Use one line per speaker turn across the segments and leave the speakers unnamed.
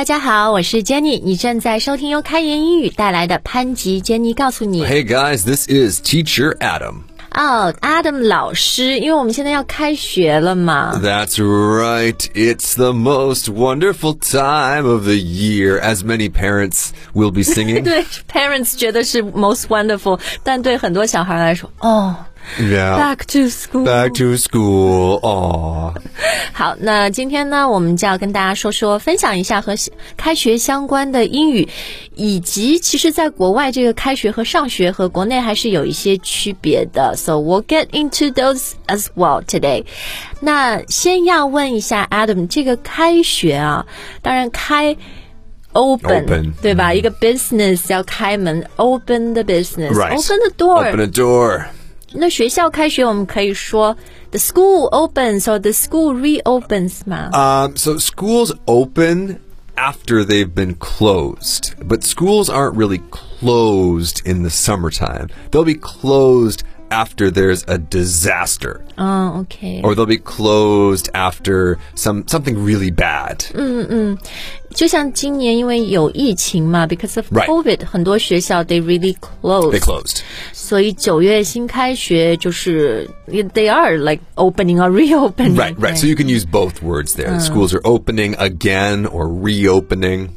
家好，我是 Jenny， 你正在收听由开言英语带来的潘吉 Jenny 告诉你。
Hey guys, this is Teacher Adam.
Adam 老师，因为我们现在要开学了嘛。
That's right. It's the most wonderful time of the year, as many parents will be singing.
对 parents 觉得是 most wonderful， 但对很多小孩来说
Yeah.
Back to school.
Back to school. Aww.
好，那今天呢，我们就要跟大家分享一下和开学相关的英语，以及其实在国外这个开学和上学和国内还是有一些区别的。So we'll get into those as well today. 那先要问一下 Adam， 这个开学啊，当然开Open 对吧？一个 business 要开门 ，open the business，
Right.
Open the door.
Open a door.
那学校开学，我们可以说 the school opens or the school reopens 吗？
So schools open after they've been closed, but schools aren't really closed in the summertime. They'll be closed after there's a disaster.
Okay.
Or they'll be closed after something really bad.
就像今年因为有疫情嘛 because of
Right.
COVID， 很多学校 they really closed.
They closed.
所以9月新开学就是 they are like opening or reopening.
Right. So you can use both words there. Schools are opening again or reopening.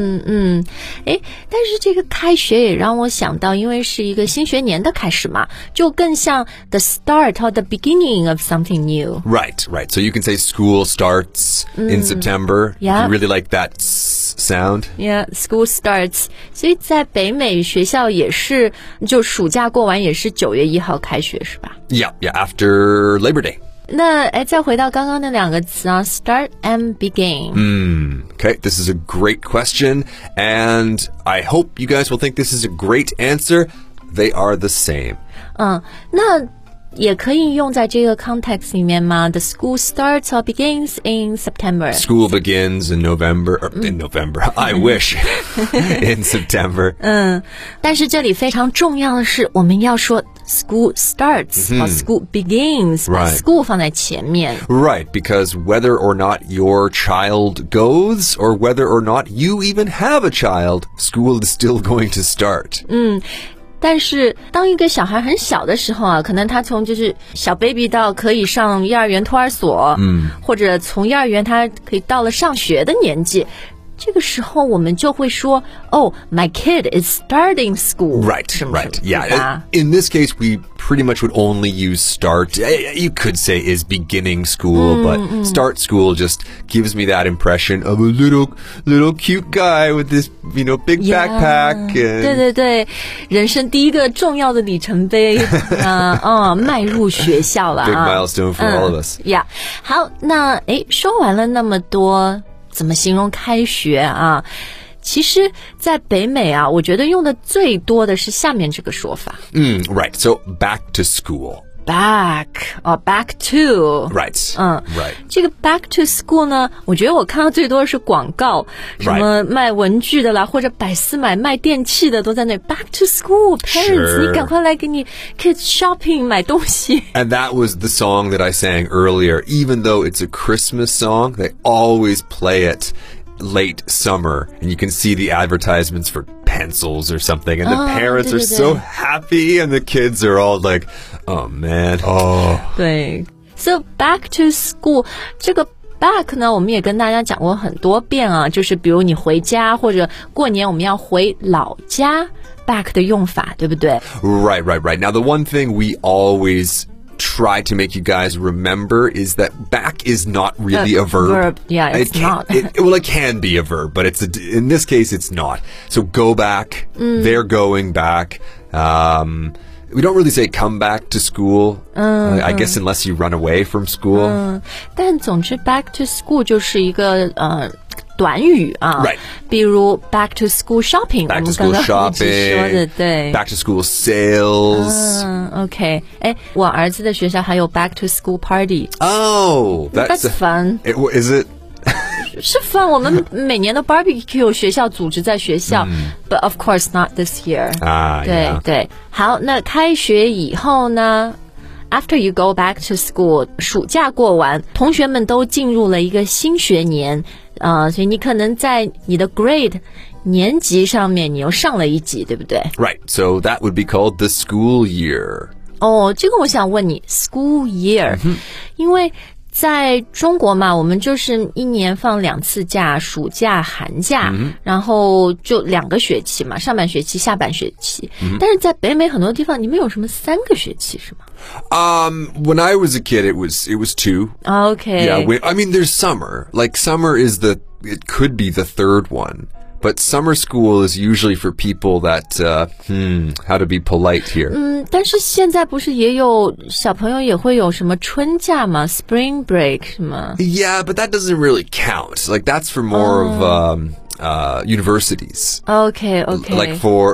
但是这个开学也让我想到，因为是一个新学年的开始嘛，就更像 the start or the beginning of something new.
Right. So you can say school starts in September.
Yeah.
If you really like that sound.
Yeah, school starts. 所以在北美学校也是，就暑假过完也是9月1号开学是吧？
Yeah, after Labor Day.
那再回到刚刚那两个词啊 ，start and begin.
Okay, this is a great question, and I hope you guys will think this is a great answer. They are the same.
那也可以用在这个 context 里面吗？ The school starts or begins in September.
School begins in November. In November. I wish. In September.
但是这里非常重要的是，我们要说 school starts or school begins， 把
Right.
school 放在前面。
Right, because whether or not your child goes, or whether or not you even have a child, school is still going to start.
但是当一个小孩很小的时候啊，可能他从就是小 baby 到可以上幼儿园托儿所，或者从幼儿园他可以到了上学的年纪，这个时候我们就会说my kid is starting school.
Right. Yeah. In this case, we pretty much would only use start. You could say is beginning school, but start school just gives me that impression of a little cute guy with this, big backpack.
对对，人生第一个重要的里程碑迈入学校了
Big milestone for all of us.
Yeah. 好，那说完了那么多，怎么形容开学啊？其实在北美啊，我觉得用的最多的是下面这个说法。
Right. So back to school.
Back to.
Right. Right.
这个 back to school 呢，我觉得我看到最多的是广告，什么卖文具的啦，或者百思买卖电器的都在那 back to school. Parents， 你赶快来给你 kids shopping 买东西。
And that was the song that I sang earlier. Even though it's a Christmas song, they always play it late summer, and you can see the advertisements for pencils or something, and the parents are so happy, and the kids are all like, oh man.
对 So back to school 这个 back 呢，我们也跟大家讲过很多遍啊，就是比如你回家或者过年我们要回老家 back 的用法，对不对？
Right. Now, the one thing we always try to make you guys remember is that back is not really a verb.
Yeah, it's not.
It can be a verb, but in this case, it's not. So go back. They're going back. We don't really say come back to school. I guess unless you run away from school.
但总之 back to school 就是一个短语啊
Right.
比如 back to school shopping，
Back
我
to
们
school
刚刚一直说的
shopping.
对
Back to school sales.
OK， 我儿子的学校还有 back to school party。
Oh,
That's fun.
Is it?
是 fun， 我们每年的 barbecue 学校组织在学校，but of course not this year。对
yeah.
对，好，那开学以后呢 ？After you go back to school， 暑假过完，同学们都进入了一个新学年。 所以你可能在你的 grade 年级上面你又上了一级，对不对？
Right, so that would be called the school year.
这个我想问你 school year，因为在中国嘛，我们就是一年放2次假，暑假、寒假，然后就2个学期嘛，上半学期、下半学期。但是在北美很多地方，你们有什么3个学期是吗？
When I was a kid, it was 2.
Okay.
Yeah, I mean, there's summer. Like summer it could be the third one. But summer school is usually for people that, how to be polite here.
但是现在不是也有小朋友也会有什么春假吗 ？Spring break 是吗？
Yeah, but that doesn't really count. Like that's for more of universities.
Okay.
Like for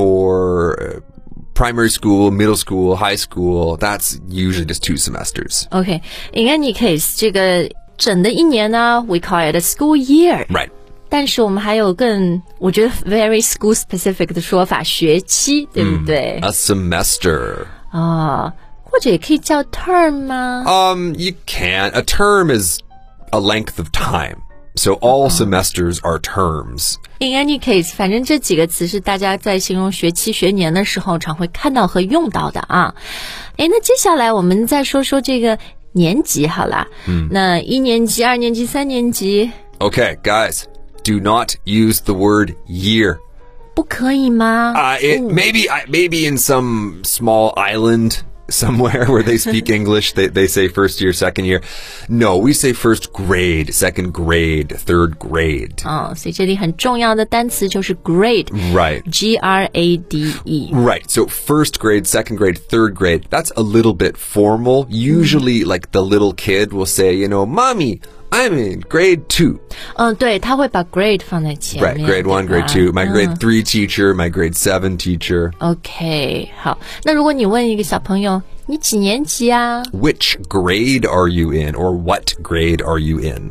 primary school, middle school, high school, that's usually just 2 semesters.
Okay. In any case, 这个整的一年呢 we call it a school year.
Right.
但是我们还有更我觉得 very school specific 的说法，学期，对不对？
A semester.
或者也可以叫 term 吗？
You can. A term is a length of time. So all semesters are terms.
In any case, 反正这几个词是大家在形容学期、学年的时候常会看到和用到的啊。那接下来我们再说说这个年级好啦。那1年级、2年级、3年级。
Okay, guys, do not use the word year.
不可以吗？
Maybe in some small island somewhere where they speak English, they say first year, second year. No, we say first grade, second grade, third grade.
所以这里很重要的单词就是 grade.
Right.
G-R-A-D-E.
Right. So first grade, second grade, third grade, that's a little bit formal. Usually, like the little kid will say, Mommy, I'm in grade 2.
对，他会把 grade 放在前面。
Right, grade 1, grade 2. My grade 3 teacher, my grade 7 teacher.
OK， 好。那如果你问一个小朋友，你几年级啊？
Which grade are you in, or what grade are you in?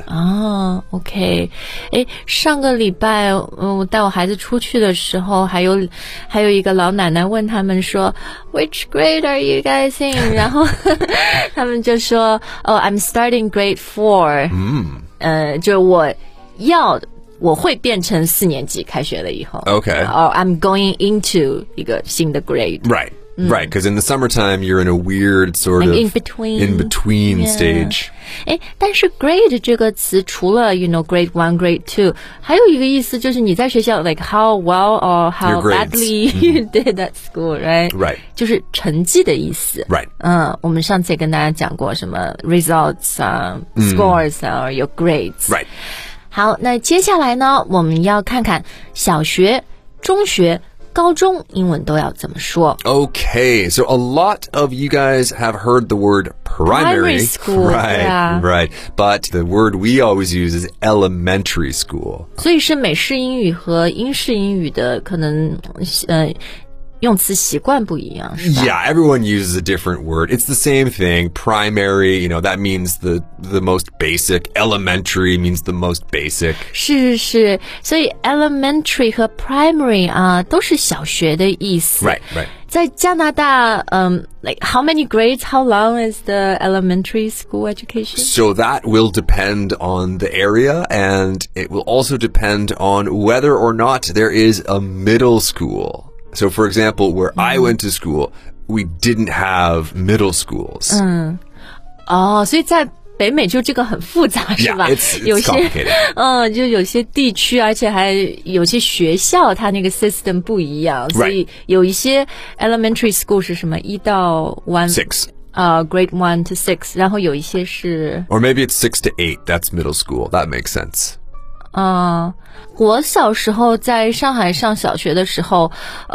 OK。上个礼拜，我带我孩子出去的时候，还有一个老奶奶问他们说 ，Which grade are you guys in？ 然后他们就说，I'm starting grade 4。就是我会变成4年级，开学了以后。
Okay.
Or I'm going into 一个新的 grade。
Right. Right, because in the summertime, you're in a weird sort of
in between
stage.
但是 grade 这个词除了 grade 1, grade 2，还有一个意思就是你在学校 like how well or how
Your grades.
badly you did at school, right?
Right.
就是成绩的意思。
Right.
我们上次也跟大家讲过什么 results 啊、scores 啊 your grades.
Right.
好，那接下来呢，我们要看看小学、中学、高中英文都要怎么说。
Okay, so a lot of you guys have heard the word primary
school.
Right,
Yeah.
right. But the word we always use is elementary school.
所以是美式英语和英式英语的可能用词习惯不一样，是吧？
Yeah, everyone uses a different word. It's the same thing. Primary, that means the most basic. Elementary means the most basic.
是，所以 elementary 和 primary 都是小学的意思。
Right.
在加拿大like how many grades, how long is the elementary school education?
So that will depend on the area, and it will also depend on whether or not there is a middle school. So, for example, where I went to school, we didn't have middle schools.
所以在北美就这个很复杂，是吧？
Yeah, it's
有些
complicated.
就有些地区，而且还有些学校，它那个 system 不一样，所以有一些 elementary school 是什么1到1
6.
grade 1 to 6，然后有一些是
Or maybe it's 6 to 8. That's middle school. That makes sense.
我小时候在上海上小学的时候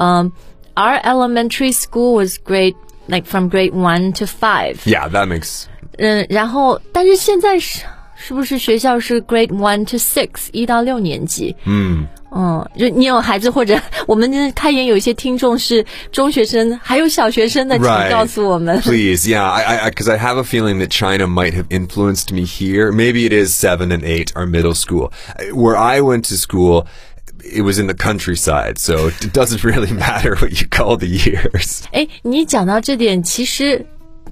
our elementary school was like from grade 1 to 5.
Yeah, that makes...
然后但是现在是不是学校是 grade 1 to 6 1到6年级？就你有孩子或者我们开言有一些听众是中学生还有小学生的，请告诉我们。
Please, yeah, because I have a feeling that China might have influenced me here. Maybe it is 7 and 8 are middle school. Where I went to school, it was in the countryside, so it doesn't really matter what you call the years.
你讲到这点，其实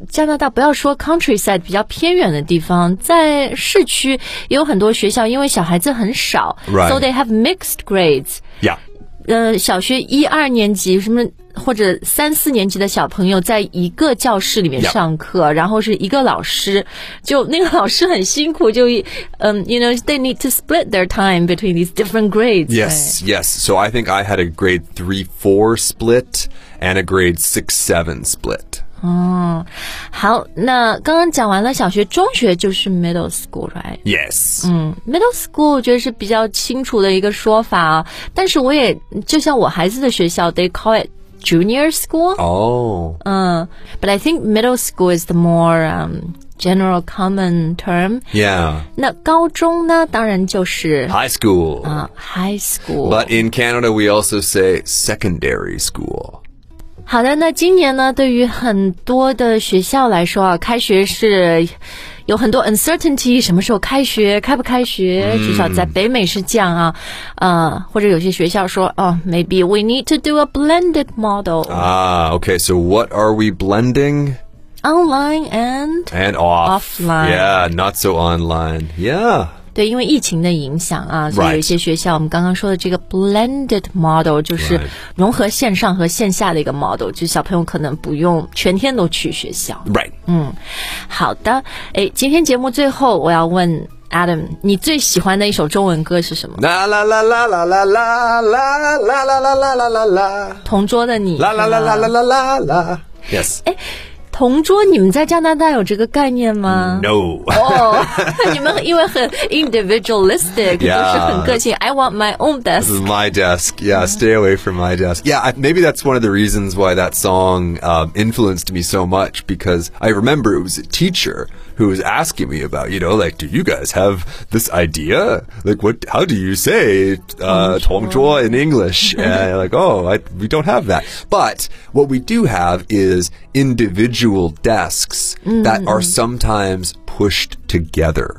加拿大不要说 countryside 比较偏远的地方，在市区也有很多学校，因为小孩子很少
Right.
so they have mixed grades.
Yeah.
小学1、2年级什么或者3、4年级的小朋友在一个教室里面上课，然后是一个老师，就那个老师很辛苦，就you know they need to split their time between these different grades.
Yes, yes. So I think I had a grade 3-4 split and a grade 6-7 split.
好，那刚刚讲完了小学、中学就是 middle school, right?
Yes.
Middle school 我觉得是比较清楚的一个说法啊，但是我也就像我孩子的学校 they call it junior school.
Oh.
But I think middle school is the more general common term.
Yeah.
那高中呢，当然就是
High school.
high school.
But in Canada, we also say secondary school.
好的，那今年呢，对于很多的学校来说啊，开学是有很多 uncertainty， 什么时候开学，开不开学，至少在北美是这样啊。或者有些学校说maybe we need to do a blended model.
Okay. So what are we blending?
Online and
offline. Yeah, not so online. Yeah.
对，因为疫情的影响啊，所以有一些学校我们刚刚说的这个 blended model 就是融合线上和线下的一个 model， 就是小朋友可能不用全天都去学校。
Right.
好的，今天节目最后我要问 Adam， 你最喜欢的一首中文歌是什么？
La la la la la la la la la la la la la la.
同桌的你。
La la la la la la la la. Yes.
同桌，你们在加拿大有这个概念吗？
No.
你们因为很 individualistic， 就是很个性。I want my own desk.
This is my desk. Yeah, stay away from my desk. Yeah, maybe that's one of the reasons why that song influenced me so much, because I remember it was a teacher who was asking me about, like, do you guys have this idea? Like, how do you say 同桌 in English? And like, we don't have that. But what we do have is individual desks that are sometimes pushed together.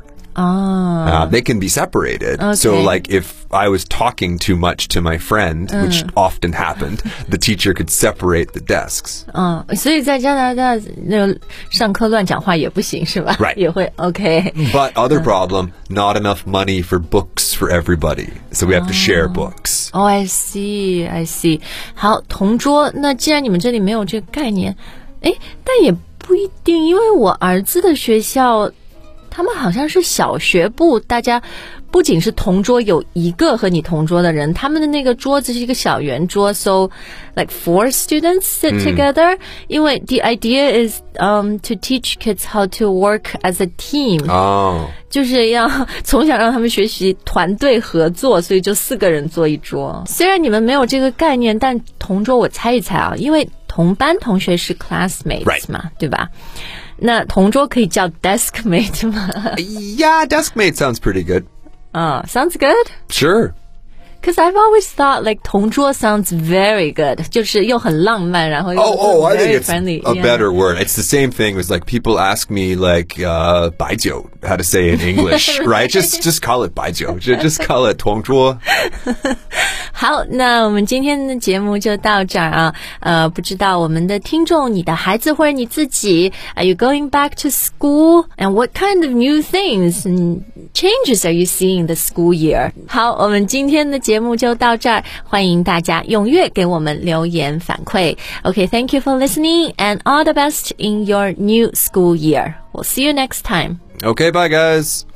They can be separated.
Okay.
So like if I was talking too much to my friend, which often happened, the teacher could separate the desks.
所以在加拿大那个上课乱讲话也不行是吧？
Right.
也会 OK.
But other problem, not enough money for books for everybody. So we have to share books.
Oh, I see, I see. 好，同桌，那既然你们这里没有这个概念，但也不一定，因为我儿子的学校他们好像是小学部，大家不仅是同桌有一个和你同桌的人，他们的那个桌子是一个小圆桌 so like 4 students sit together 因为 the idea is to teach kids how to work as a team 就是要从小让他们学习团队合作，所以就4个人坐一桌。虽然你们没有这个概念，但同桌我猜一猜啊，因为同班同学是 classmates 嘛，对吧？那同桌可以叫 deskmate 吗？
Yeah, deskmate sounds pretty good.
Sounds good?
Sure.
Because I've always thought like 同桌 sounds very good, 就是又很浪漫，然后又
I
very
think it's
friendly.
a better word. It's the same thing as like people ask me like 白酒 how to say in English, right? Just call it 白酒 just call it 同桌。
好，那我们今天的节目就到这儿啊。不知道我们的听众，你的孩子或者你自己 ，Are you going back to school? And what kind of new things and changes are you seeing in the school year? 好，我们今天的节目就到这儿，欢迎大家踊跃给我们留言反馈。Okay, thank you for listening and all the best in your new school year. We'll see you next time.
Okay, bye guys.